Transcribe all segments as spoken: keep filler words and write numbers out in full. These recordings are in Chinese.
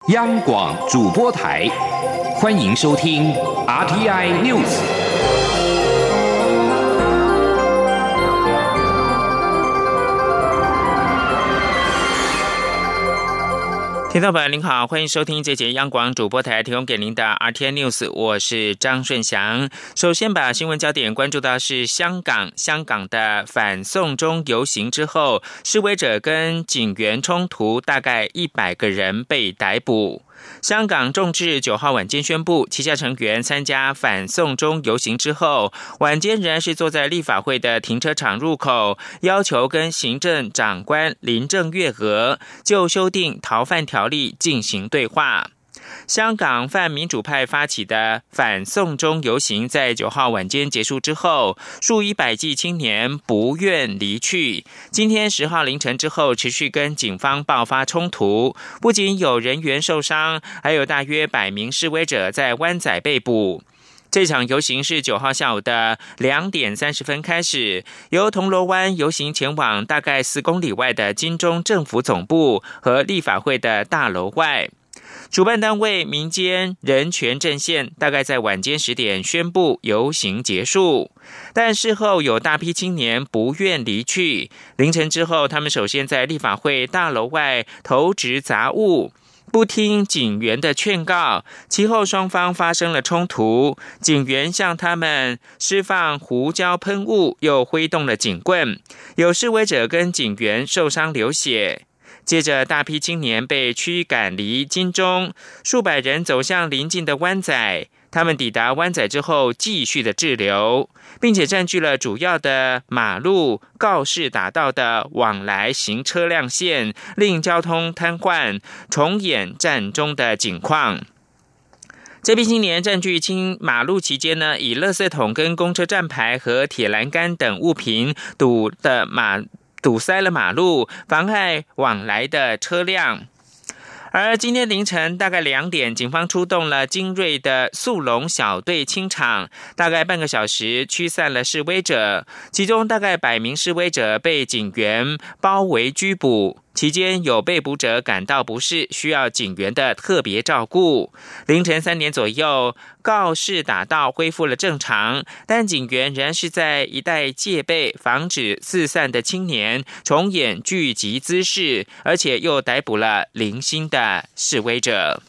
央广主播台，欢迎收听 R T I News。 听众朋友您好，欢迎收听这节央广主播台提供给您的 R T I News， 我是张顺祥。首先把新闻焦点关注到是香港，香港的反送中游行之后，示威者跟警员冲突，大概一百个人被逮捕。香港众志九号晚间宣布，旗下成员参加反送中游行之后，晚间仍然是坐在立法会的停车场入口，要求跟行政长官林郑月娥就修订逃犯条例进行对话。香港泛民主派发起的反送中游行在九号晚间结束之后，数以百计青年不愿离去。今天十号凌晨之后，持续跟警方爆发冲突，不仅有人员受伤，还有大约百名示威者在湾仔被捕。这场游行是九号下午的两点三十分开始，由铜锣湾游行前往大概四公里外的金钟政府总部和立法会的大楼外。主办单位民间人权阵线大概在晚间十点宣布游行结束，但事后有大批青年不愿离去。凌晨之后，他们首先在立法会大楼外投掷杂物，不听警员的劝告，其后双方发生了冲突，警员向他们释放胡椒喷雾，又挥动了警棍，有示威者跟警员受伤流血。接着大批青年被驱赶离金钟，数百人走向邻近的湾仔，他们抵达湾仔之后继续的滞留，并且占据了主要的马路、告士打道的往来行车辆线，令交通瘫痪，重演战中的景况。这批青年占据青马路期间呢，以垃圾桶跟公车站牌和铁栏杆等物品堵的马堵塞了马路，妨碍往来的车辆。而今天凌晨大概两点，警方出动了精锐的速龙小队清场，大概半个小时驱散了示威者，其中大概百名示威者被警员包围拘捕。期间有被捕者感到不适，需要警员的特别照顾。凌晨三点左右，告士打道恢复了正常，但警员仍然是在一带戒备，防止四散的青年重演聚集滋事，而且又逮捕了零星的示威者。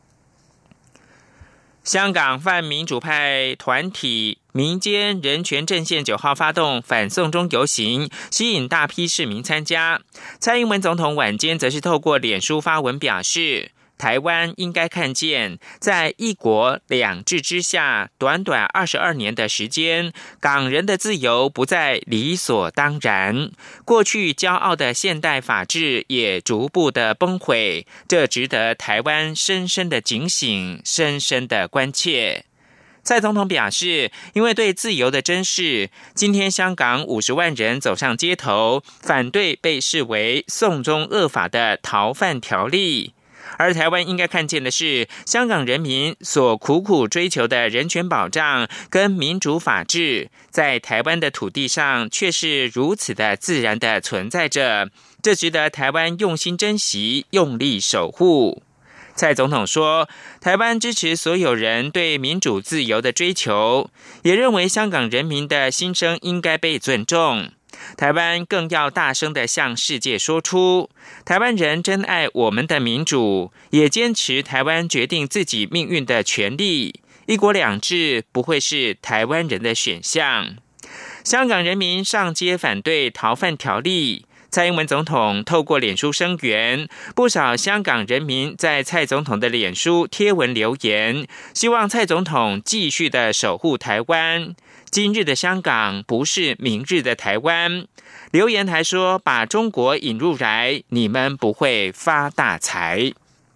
香港泛民主派团体民间人权阵线九号发动反送中游行，吸引大批市民参加。蔡英文总统晚间则是透过脸书发文表示，台湾应该看见，在一国两制之下，短短二十二年的时间，港人的自由不再理所当然，过去骄傲的现代法治也逐步的崩毁，这值得台湾深深的警醒，深深的关切。蔡总统表示，因为对自由的珍视，今天香港五十万人走上街头，反对被视为送中恶法的逃犯条例。而台湾应该看见的是，香港人民所苦苦追求的人权保障跟民主法治，在台湾的土地上却是如此的自然的存在着，这值得台湾用心珍惜，用力守护。蔡总统说，台湾支持所有人对民主自由的追求，也认为香港人民的心声应该被尊重。台湾更要大声地向世界说出，台湾人珍爱我们的民主，也坚持台湾决定自己命运的权利。一国两制不会是台湾人的选项。香港人民上街反对逃犯条例，蔡英文总统透过脸书声援，不少香港人民在蔡总统的脸书贴文留言，希望蔡总统继续的守护台湾。今日的香港不是明日的台湾。留言还说，把中国引入来，你们不会发大财。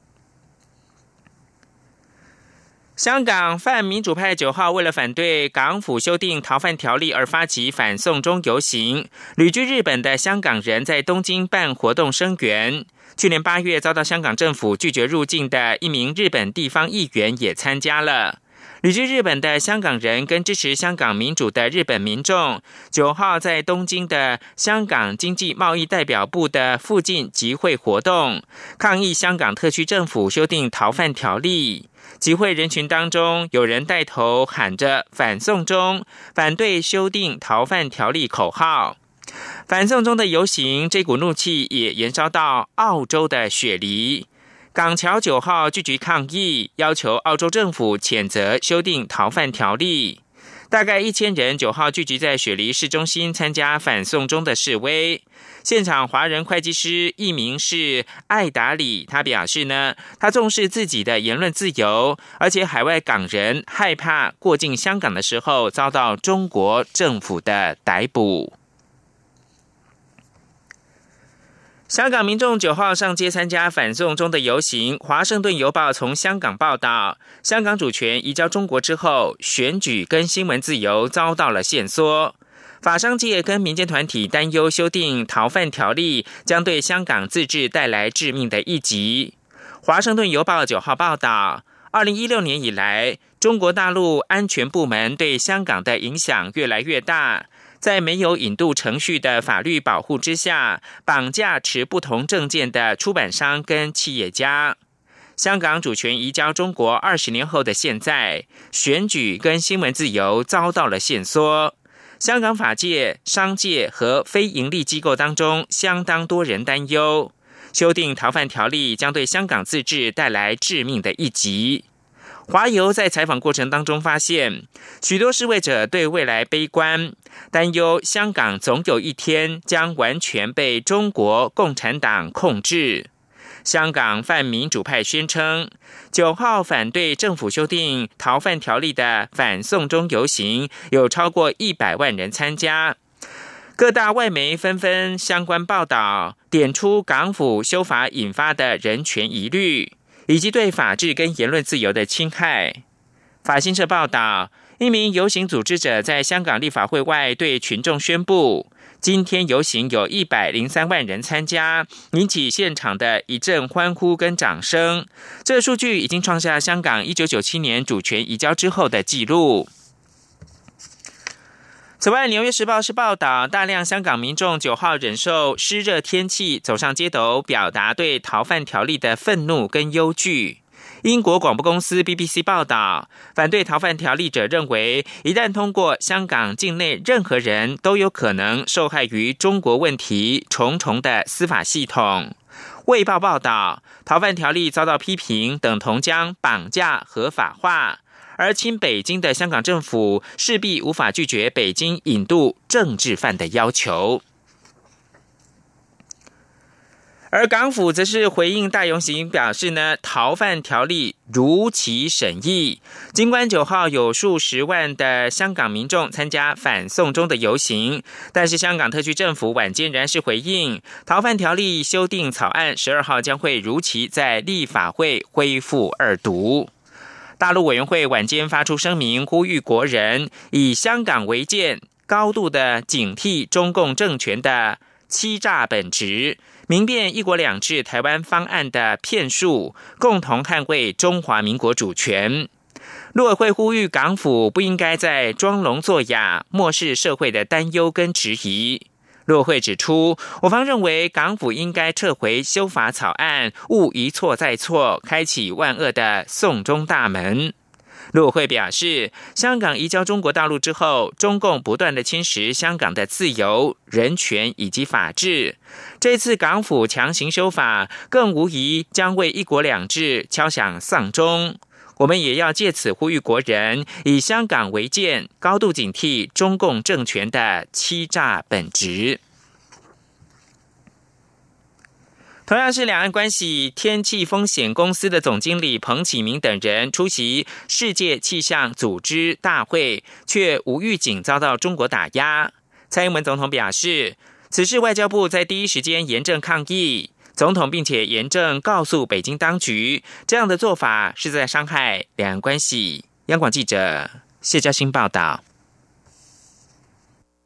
香港泛民主派九号为了反对港府修订逃犯条例而发起反送中游行，旅居日本的香港人在东京办活动声援。去年八月遭到香港政府拒绝入境的一名日本地方议员也参加了。 旅居日本的香港人跟支持香港民主的日本民众，九号在东京的香港经济贸易代表部的附近集会活动，抗议香港特区政府修订逃犯条例。集会人群当中，有人带头喊着反送中，反对修订逃犯条例口号。反送中的游行，这股怒气也延烧到澳洲的雪梨。港侨九号聚集抗议，要求澳洲政府谴责修订逃犯条例。大概一千人九号聚集在雪梨市中心参加反送中的示威。现场华人会计师艺名是艾达里，他表示呢，他重视自己的言论自由，而且海外港人害怕过境香港的时候遭到中国政府的逮捕。香港民众九号上街参加反送中的游行。华盛顿邮报从香港报道，香港主权移交中国之后，选举跟新闻自由遭到了限缩。法商界跟民间团体担忧修订逃犯条例将对香港自治带来致命的一击。华盛顿邮报九号报道，二零一六年以来，中国大陆安全部门对香港的影响越来越大。在没有引渡程序的法律保护之下，绑架持不同政见的出版商跟企业家。香港主权移交中国二十年后的现在，选举跟新闻自由遭到了限缩。香港法界、商界和非营利机构当中，相当多人担忧，修订逃犯条例将对香港自治带来致命的一击。华邮在采访过程当中发现，许多示威者对未来悲观，担忧香港总有一天将完全被中国共产党控制。香港泛民主派宣称，九号反对政府修订逃犯条例的反送中游行有超过一百万人参加。各大外媒纷纷相关报道，点出港府修法引发的人权疑虑，以及对法治跟言论自由的侵害。法新社报道，一名游行组织者在香港立法会外对群众宣布，今天游行有一百零三万人参加，引起现场的一阵欢呼跟掌声。这数据已经创下香港一九九七年主权移交之后的纪录。此外，《纽约时报》是报道，大量香港民众九号忍受湿热天气，走上街头，表达对逃犯条例的愤怒跟忧惧。英国广播公司 B B C 报道，反对逃犯条例者认为，一旦通过，香港境内任何人都有可能受害于中国问题重重的司法系统。卫报报道，逃犯条例遭到批评，等同将绑架合法化。而亲北京的香港政府势必无法拒绝北京引渡政治犯的要求。而港府则是回应大游行表示呢，逃犯条例如期审议。尽管九号有数十万的香港民众参加反送中的游行，但是香港特区政府晚间仍然是回应，逃犯条例修订草案十二号将会如期在立法会恢复二读。大陆委员会晚间发出声明，呼吁国人以香港为鉴，高度的警惕中共政权的欺诈本质，明辨一国两制台湾方案的骗术，共同捍卫中华民国主权。陆委会呼吁港府不应该再装聋作哑，漠视社会的担忧跟质疑。陆委会指出，我方认为港府应该撤回修法草案，勿一错再错，开启万恶的送中大门。陆委会表示，香港移交中国大陆之后，中共不断的侵蚀香港的自由、人权以及法治。这次港府强行修法，更无疑将为一国两制敲响丧钟。我们也要借此呼吁国人以香港为鉴，高度警惕中共政权的欺诈本质。同样是两岸关系，天气风险公司的总经理彭启明等人出席世界气象组织大会，却无预警遭到中国打压。蔡英文总统表示，此事外交部在第一时间严正抗议。总统并且严正告诉北京当局，这样的做法是在伤害两岸关系。央广记者谢嘉欣报道。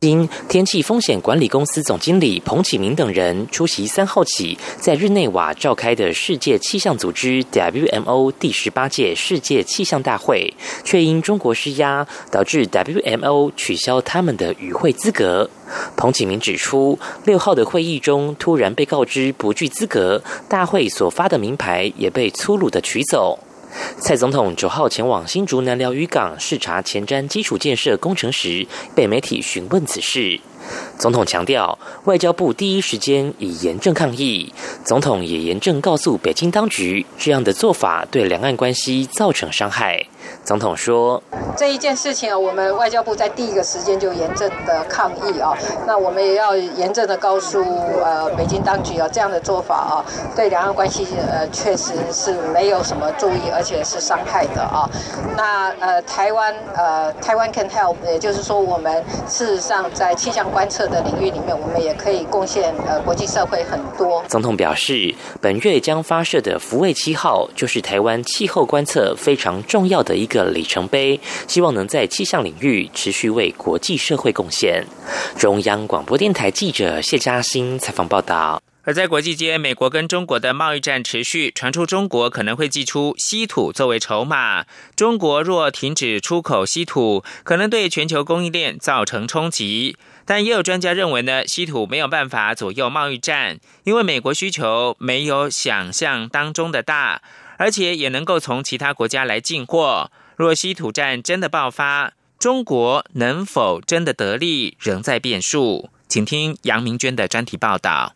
因天气风险管理公司总经理彭启明等人出席三号起在日内瓦召开的世界气象组织 W M O 第十八届世界气象大会，却因中国施压，导致 W M O 取消他们的与会资格。彭启明指出，六号的会议中突然被告知不具资格，大会所发的名牌也被粗鲁的取走。蔡总统九号前往新竹南寮渔港视察前瞻基础建设工程时，被媒体询问此事。总统强调，外交部第一时间已严正抗议，总统也严正告诉北京当局，这样的做法对两岸关系造成伤害。总统说， 这一件事情啊，我们外交部在第一个时间就严正的抗议啊，那我们也要严正的告诉呃北京当局啊，这样的做法啊，对两岸关系呃确实是没有什么注意，而且是伤害的啊。那呃台湾呃台湾 can help， 也就是说，我们事实上在气象观测的领域里面，我们也可以贡献呃国际社会很多。 总统表示，本月将发射的福卫七号就是台湾气候观测非常重要的一个里程碑，希望能在气象领域持续为国际社会贡献。中央广播电台记者谢嘉欣采访报道。 而在国际间，美国跟中国的贸易战持续，传出中国可能会祭出稀土作为筹码。中国若停止出口稀土，可能对全球供应链造成冲击。但也有专家认为呢，稀土没有办法左右贸易战，因为美国需求没有想象当中的大，而且也能够从其他国家来进货。若稀土战真的爆发，中国能否真的得利，仍在变数。请听杨明娟的专题报道。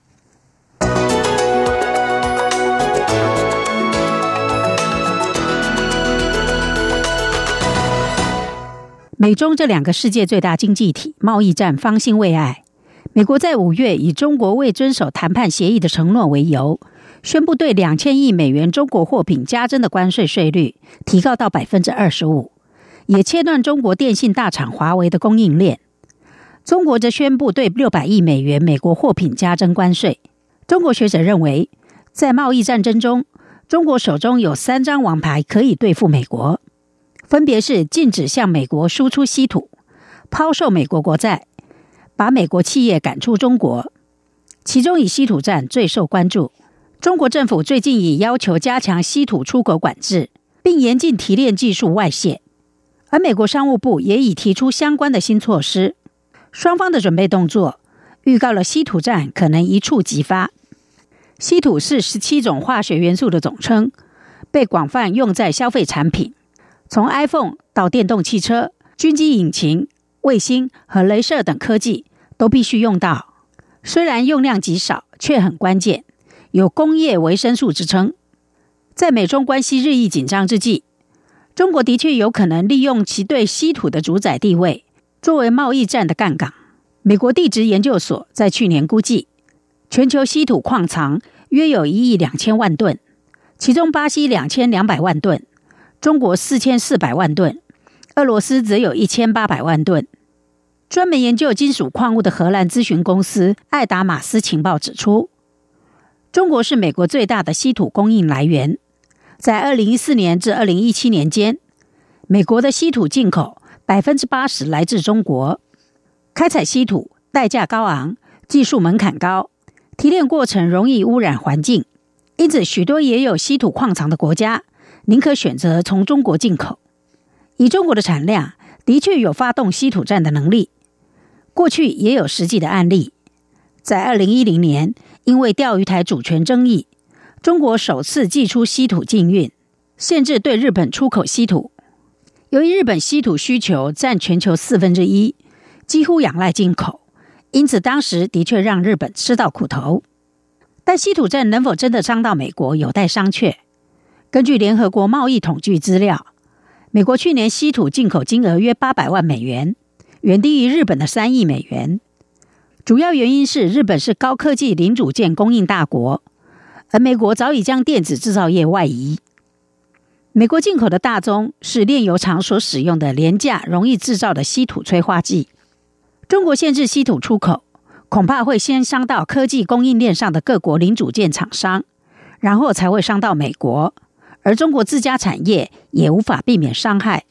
美中这两个世界最大经济体贸易战方兴未艾。美国在五月以中国未遵守谈判协议的承诺为由，宣布对两千亿美元中国货品加征的关税税率提高到 百分之二十五， 也切断中国电信大厂华为的供应链。中国则宣布对六百亿美元美国货品加征关税。中国学者认为，在贸易战争中，中国手中有三张王牌可以对付美国，分别是禁止向美国输出稀土、抛售美国国债、把美国企业赶出中国。其中以稀土战最受关注。中国政府最近已要求加强稀土出口管制，并严禁提炼技术外泄，而美国商务部也已提出相关的新措施。双方的准备动作预告了稀土战可能一触即发。稀土是十七种化学元素的总称，被广泛用在消费产品，从 iPhone 到电动汽车、军机引擎、卫星和雷射等科技都必须用到。虽然用量极少，却很关键，有工业维生素之称。在美中关系日益紧张之际，中国的确有可能利用其对稀土的主宰地位，作为贸易战的杠杆。美国地质研究所在去年估计，全球稀土矿藏约有一亿两千万吨，其中巴西两千两百万吨，中国四千四百万吨，俄罗斯则有一千八百万吨。专门研究金属矿物的荷兰咨询公司艾达马斯情报指出，中国是美国最大的稀土供应来源。在二零一四年至二零一七年间，美国的稀土进口 百分之八十 来自中国。开采稀土代价高昂，技术门槛高，提炼过程容易污染环境，因此许多也有稀土矿藏的国家宁可选择从中国进口。以中国的产量，的确有发动稀土战的能力。过去也有实际的案例，在二零一零年，因为钓鱼台主权争议，中国首次祭出稀土禁运，限制对日本出口稀土。由于日本稀土需求占全球四分之一，几乎仰赖进口，因此当时的确让日本吃到苦头。但稀土战能否真的伤到美国，有待商榷。根据联合国贸易统计资料，美国去年稀土进口金额约八百万美元，远低于日本的三亿美元。主要原因是日本是高科技零组件供应大国，而美国早已将电子制造业外移。美国进口的大宗是炼油厂所使用的廉价容易制造的稀土催化剂。中国限制稀土出口，恐怕会先伤到科技供应链上的各国零组件厂商，然后才会伤到美国，而中国自家产业也无法避免伤害。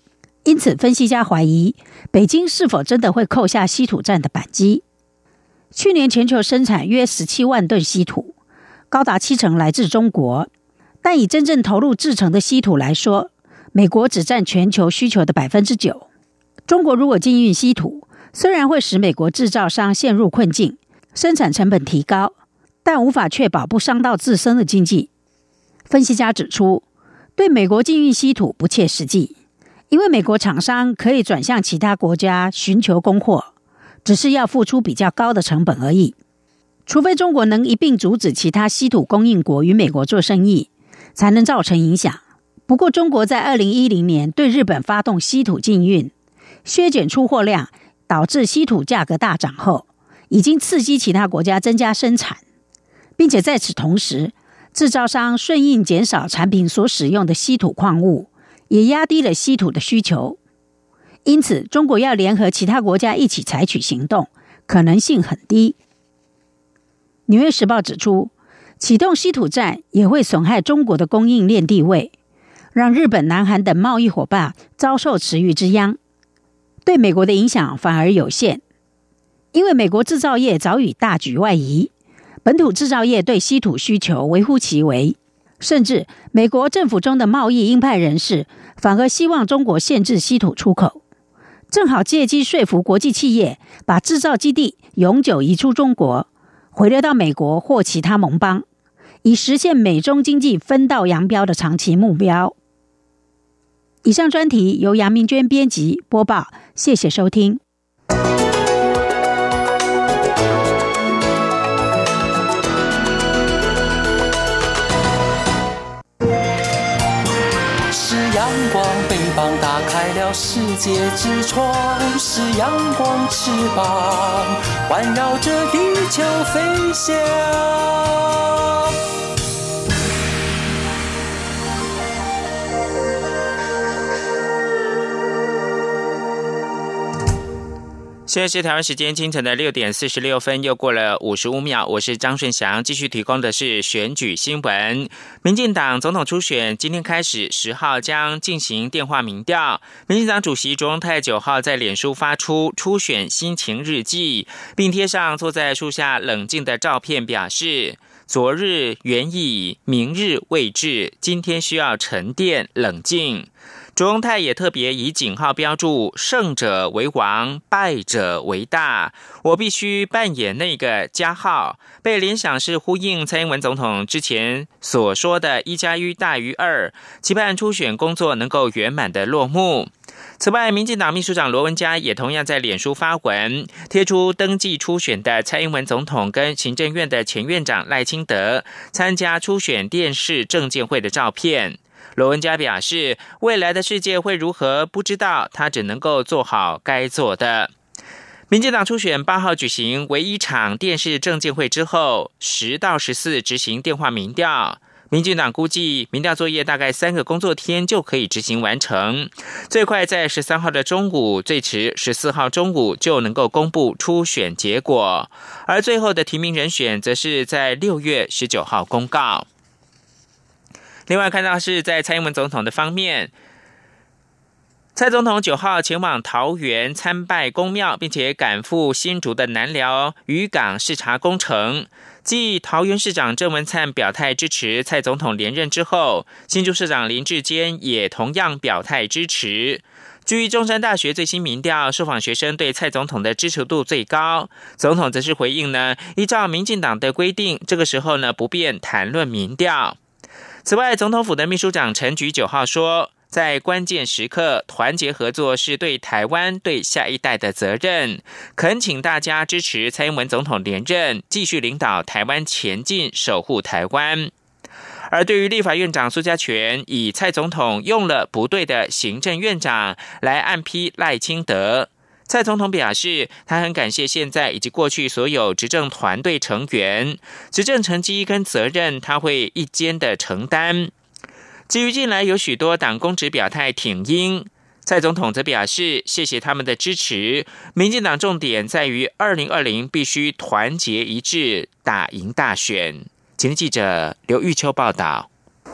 因此，分析家怀疑北京是否真的会扣下稀土战的扳机。去年全球生产约十七万吨稀土，高达七成来自中国，但以真正投入制成的稀土来说，美国只占全球需求的 百分之九。 中国如果禁运稀土，虽然会使美国制造商陷入困境，生产成本提高，但无法确保不伤到自身的经济。分析家指出，对美国禁运稀土不切实际，因为美国厂商可以转向其他国家寻求供货，只是要付出比较高的成本而已。除非中国能一并阻止其他稀土供应国与美国做生意，才能造成影响。不过，中国在二零一零年对日本发动稀土禁运，削减出货量，导致稀土价格大涨后，已经刺激其他国家增加生产，并且在此同时，制造商顺应减少产品所使用的稀土矿物，也压低了稀土的需求。因此，中国要联合其他国家一起采取行动，可能性很低。纽约时报指出，启动稀土战也会损害中国的供应链地位，让日本、南韩等贸易伙伴遭受池鱼之殃。对美国的影响反而有限，因为美国制造业早已大举外移，本土制造业对稀土需求微乎其微，甚至美国政府中的贸易鹰派人士反而希望中国限制稀土出口，正好借机说服国际企业把制造基地永久移出中国，回流到美国或其他盟邦，以实现美中经济分道扬镳的长期目标。以上专题由杨明娟编辑播报，谢谢收听。 是阳光，北方打开了世界之窗，是阳光翅膀环绕着地球飞翔。 现在是台湾时间清晨的六点四十六分，又过了五十五秒。我是张顺祥，继续提供的是选举新闻。民进党总统初选今天开始，十号将进行电话民调。民进党主席卓荣泰九号在脸书发出初选心情日记，并贴上坐在树下冷静的照片，表示昨日远矣，明日未至，今天需要沉淀冷静。卓荣泰也特别以井号标注胜者为王，败者为大，我必须扮演那个加号，被联想是呼应蔡英文总统之前所说的一加一大于二，期盼初选工作能够圆满的落幕。此外，民进党秘书长罗文嘉也同样在脸书发文，贴出登记初选的蔡英文总统跟行政院的前院长赖清德参加初选电视政见会的照片。罗文嘉表示，未来的世界会如何不知道，他只能够做好该做的。民进党初选八号举行唯一场电视政见会之后，十到十四执行电话民调。民进党估计民调作业大概三个工作天就可以执行完成，最快在十三号的中午，最迟十四号中午就能够公布初选结果，而最后的提名人选则是在六月十九号公告。另外看到是在蔡英文总统的方面，蔡总统九号前往桃园参拜公庙，并且赶赴新竹的南寮渔港视察工程。继桃园市长郑文灿表态支持蔡总统连任之后，新竹市长林智坚也同样表态支持。据中山大学最新民调，受访学生对蔡总统的支持度最高。总统则是回应呢，依照民进党的规定，这个时候呢不便谈论民调。此外，总统府的秘书长陈菊九号说，在关键时刻团结合作是对台湾、对下一代的责任，恳请大家支持蔡英文总统连任，继续领导台湾前进，守护台湾。而对于立法院长苏家全以蔡总统用了不对的行政院长来暗批赖清德，蔡总统表示，他很感谢现在以及过去所有执政团队成员，执政成绩跟责任他会一肩的承担。至于近来有许多党公职表态挺英，蔡总统则表示谢谢他们的支持，民进党重点在于二零二零必须团结一致，打赢大选。前天记者刘玉秋报道。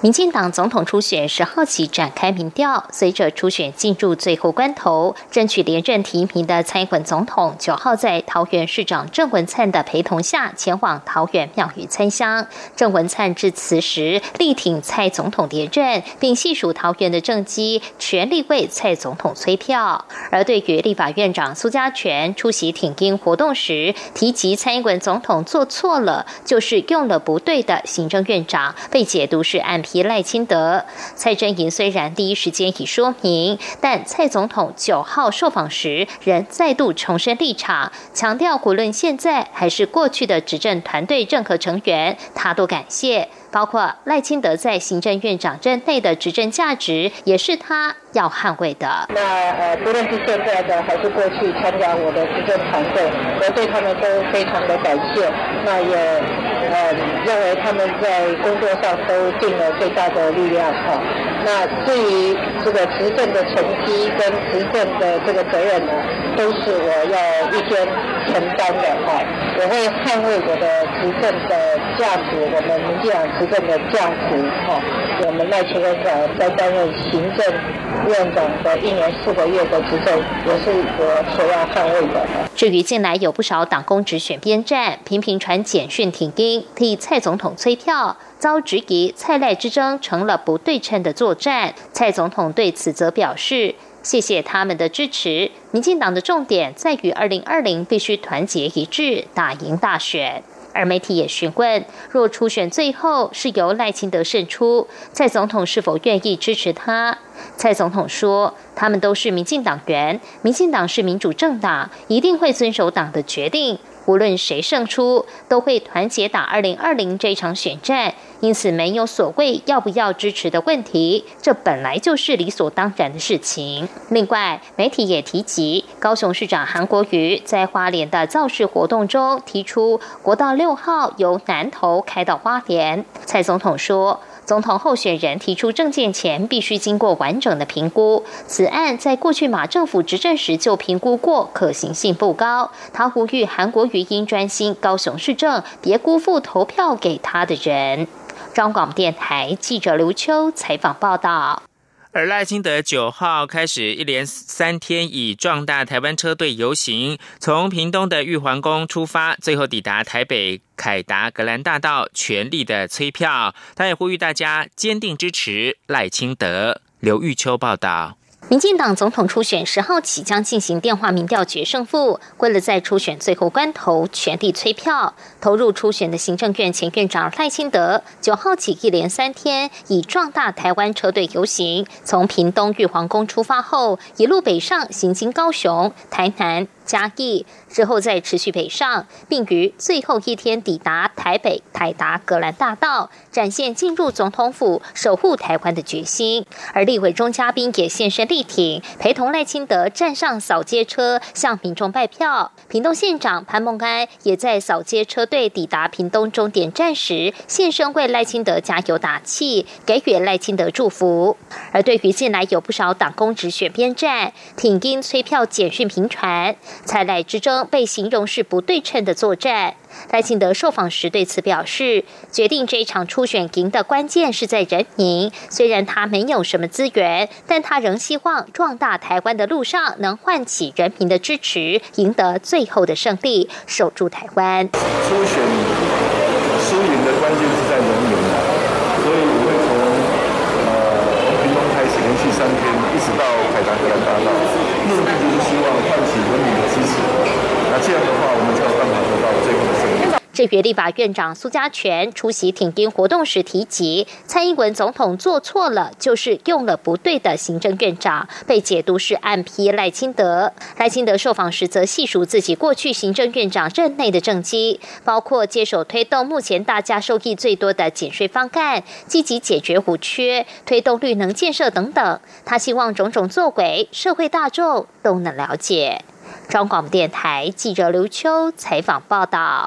民进党总统初选十号起展开民调，随着初选进入最后关头，争取连任提名的蔡英文总统九号在桃园市长郑文灿的陪同下前往桃园庙宇参香。郑文灿致辞时力挺蔡总统连任，并细数桃园的政绩，全力为蔡总统催票。而对于立法院长苏家全出席挺英活动时提及蔡英文总统做错了，就是用了不对的行政院长，被解读是暗批赖清德。蔡真营虽然第一时间已说明，但蔡总统九号受访时仍再度重申立场，强调无论现在还是过去的执政团队任何成员，他都感谢，包括赖清德在行政院长任内的执政价值，也是他要捍卫的。 那呃，不论是现在的还是过去参加我的执政团队，我对他们都非常的感谢。那也呃认为他们在工作上都尽了最大的力量哈。那至于这个执政的成绩跟执政的这个责任呢，都是我要一肩承担的哈。我会捍卫我的执政的价值，我们民进党执政的价值哈。我们赖清德在担任行政院长的一年四个月的执政，也是我所要捍卫的。 至于近来有不少党公职选边站，频频传简讯挺英，替蔡总统催票，遭质疑蔡赖之争成了不对称的作战。蔡总统对此则表示，谢谢他们的支持，民进党的重点在于二零二零必须团结一致，打赢大选。而媒体也询问，若初选最后是由赖清德胜出，蔡总统是否愿意支持他？蔡总统说，他们都是民进党员，民进党是民主政党，一定会遵守党的决定，无论谁胜出，都会团结打二零二零这场选战，因此没有所谓要不要支持的问题，这本来就是理所当然的事情。另外，媒体也提及，高雄市长韩国瑜在花莲的造势活动中提出，国道六号由南投开到花莲。蔡总统说，总统候选人提出政见前必须经过完整的评估，此案在过去马政府执政时就评估过，可行性不高。他呼吁韩国瑜应专心高雄市政，别辜负投票给他的人。中广电台记者刘秋采访报道。 而赖清德九号开始一连三天以壮大台湾车队游行，从屏东的玉皇宫出发，最后抵达台北凯达格兰大道，全力的催票。他也呼吁大家坚定支持赖清德。刘玉秋报道。 民进党总统初选十号起将进行电话民调决胜负，为了在初选最后关头全力催票，投入初选的行政院前院长赖清德九号起一连三天以壮大台湾车队游行，从屏东玉皇宫出发后，一路北上行经高雄、台南、嘉义，之后再持续北上，并于最后一天抵达台北凯达格兰大道，展现进入总统府守护台湾的决心。而立委钟嘉宾也现身力挺，陪同赖清德站上扫街车向民众拜票。屏东县长潘孟安也在扫街车队抵达屏东终点站时现身为赖清德加油打气，给予赖清德祝福。而对于近来有不少党公职选边站，挺英催票简讯频传，蔡赖之争被形容是不对称的作战。赖清德受访时对此表示，决定这一场初选赢的关键是在人民，虽然他没有什么资源，但他仍希望壮大台湾的路上能唤起人民的支持，赢得最后的胜利，守住台湾。 初选输赢的关键是在人民，所以我会从呃屏东开始连续三天一直到凯达格兰大道，目的就是希望唤起人民的支持，那这样的话我们才有办法得到最后的胜利。 至于立法院长苏家全出席挺英活动时提及，蔡英文总统做错了，就是用了不对的行政院长，被解读是暗批赖清德。赖清德受访时则细数自己过去行政院长任内的政绩，包括接手推动目前大家受益最多的减税方案，积极解决五缺，推动绿能建设等等。他希望种种作为，社会大众都能了解。中广电台记者刘秋采访报道。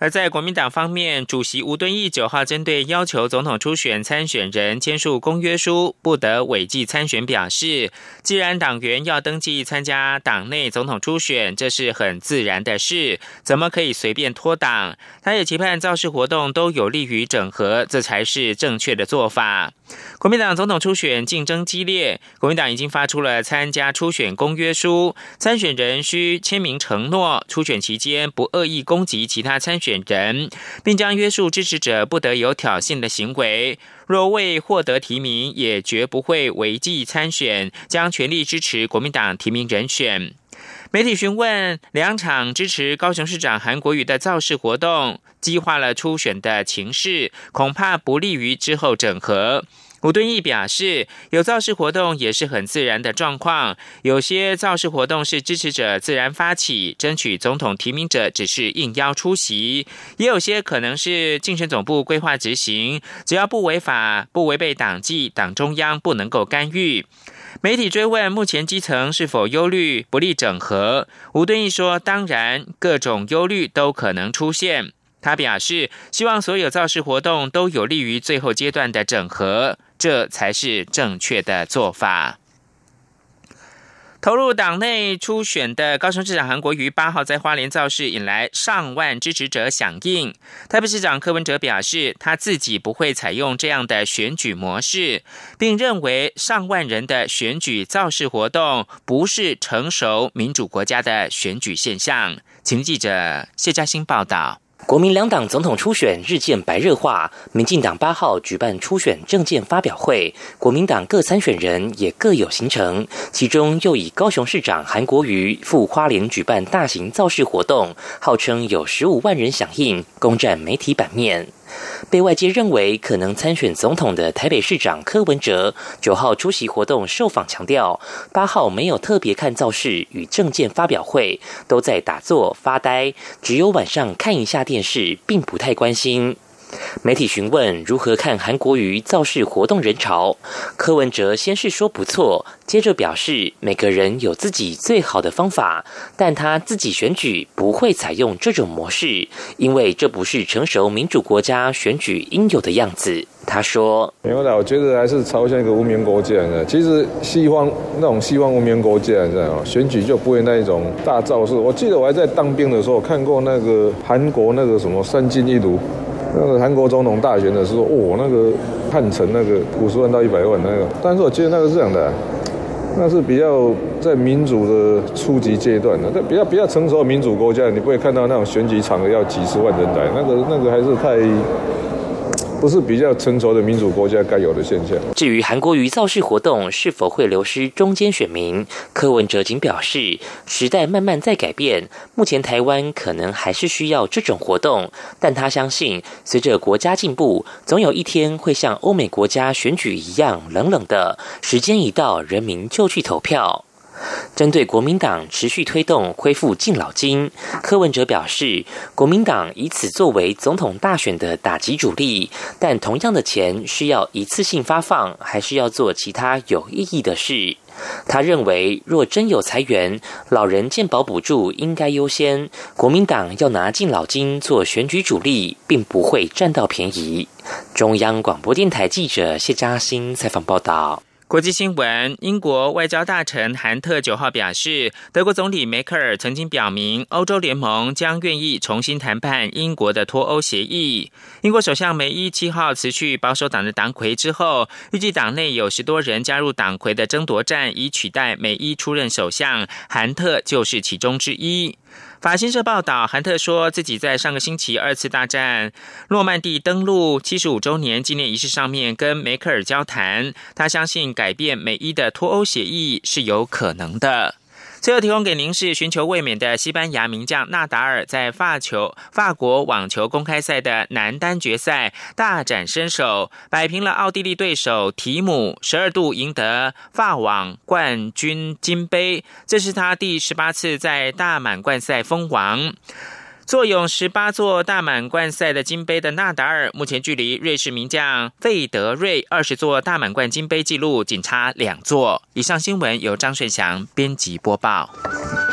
而在国民党方面，主席吴敦义九号针对要求总统初选参选人签署公约书，不得违纪参选表示，既然党员要登记参加党内总统初选，这是很自然的事，怎么可以随便脱党？他也期盼造势活动都有利于整合，这才是正确的做法。国民党总统初选竞争激烈，国民党已经发出了参加初选公约书，参选人需签名承诺，初选期间不恶意攻击其他参选人，并将约束支持者不得有挑衅的行为。若未获得提名，也绝不会违纪参选，将全力支持国民党提名人选。媒体询问两场支持高雄市长韩国瑜的造势活动，激化了初选的情势，恐怕不利于之后整合。吴敦义表示，有造势活动也是很自然的状况，有些造势活动是支持者自然发起，争取总统提名者只是应邀出席，也有些可能是竞选总部规划执行，只要不违法、不违背党纪，党中央不能够干预。媒体追问目前基层是否忧虑不利整合，吴敦义说，当然各种忧虑都可能出现。他表示，希望所有造势活动都有利于最后阶段的整合，这才是正确的做法。投入党内初选的高雄市长韩国瑜八号在花莲造势，引来上万支持者响应。台北市长柯文哲表示，他自己不会采用这样的选举模式，并认为上万人的选举造势活动不是成熟民主国家的选举现象。请记者谢嘉欣报道。 国民两党总统初选日渐白热化，民进党八号举办初选政见发表会，国民党各参选人也各有行程，其中又以高雄市长韩国瑜赴花莲举办大型造势活动，号称有十五万人响应，攻占媒体版面。被外界认为可能参选总统的台北市长柯文哲九号出席活动受访强调，八号没有特别看造势与政见发表会，都在打坐发呆，只有晚上看一下电视，并不太关心。媒体询问如何看韩国瑜造势活动人潮，柯文哲先是说不错，接着表示每个人有自己最好的方法，但他自己选举不会采用这种模式，因为这不是成熟民主国家选举应有的样子。他说：“ 没有啦，我觉得还是朝向一个文明国家的。其实西方那种西方文明国家，你知道吗？选举就不会那一种大造势。我记得我还在当兵的时候看过那个韩国那个什么三进一炉。”那个韩国总统大选的时候，哦，那个汉城那个五十万到一百万那个，但是我觉得那个是这样的、啊，那是比较在民主的初级阶段的，比较比较成熟的民主国家，你不会看到那种选举场合要几十万人来，那个那个还是太。不是比较成熟的民主国家该有的现象。 至于韩国瑜造势活动是否会流失中间选民，柯文哲仅表示，时代慢慢在改变，目前台湾可能还是需要这种活动，但他相信，随着国家进步，总有一天会像欧美国家选举一样冷冷的，时间一到，人民就去投票。针对国民党持续推动恢复敬老金，柯文哲表示，国民党以此作为总统大选的打击主力，但同样的钱是要一次性发放，还是要做其他有意义的事？他认为，若真有裁员，老人健保补助应该优先，国民党要拿敬老金做选举主力，并不会占到便宜。中央广播电台记者谢嘉欣采访报道。 国际新闻，英国外交大臣韩特九号表示，德国总理梅克尔曾经表明，欧洲联盟将愿意重新谈判英国的脱欧协议。英国首相梅伊七号辞去保守党的党魁之后，预计党内有十多人加入党魁的争夺战，以取代梅伊出任首相，韩特就是其中之一。法新社报道，韩特说自己在上个星期二次大战诺曼底登陆七十五周年纪念仪式上面跟梅克尔交谈，他相信改变美伊的脱欧协议是有可能的。最后提供给您是寻求卫冕的西班牙名将纳达尔在法球法国网球公开赛的男单决赛大展身手，摆平了奥地利对手提姆，十二度赢得法网冠军金杯，这是他第十八次在大满贯赛封王。坐拥十八座大满贯赛的金杯的纳达尔，目前距离瑞士名将费德瑞二十座大满贯金杯纪录仅差两座。以上新闻由张顺祥编辑播报。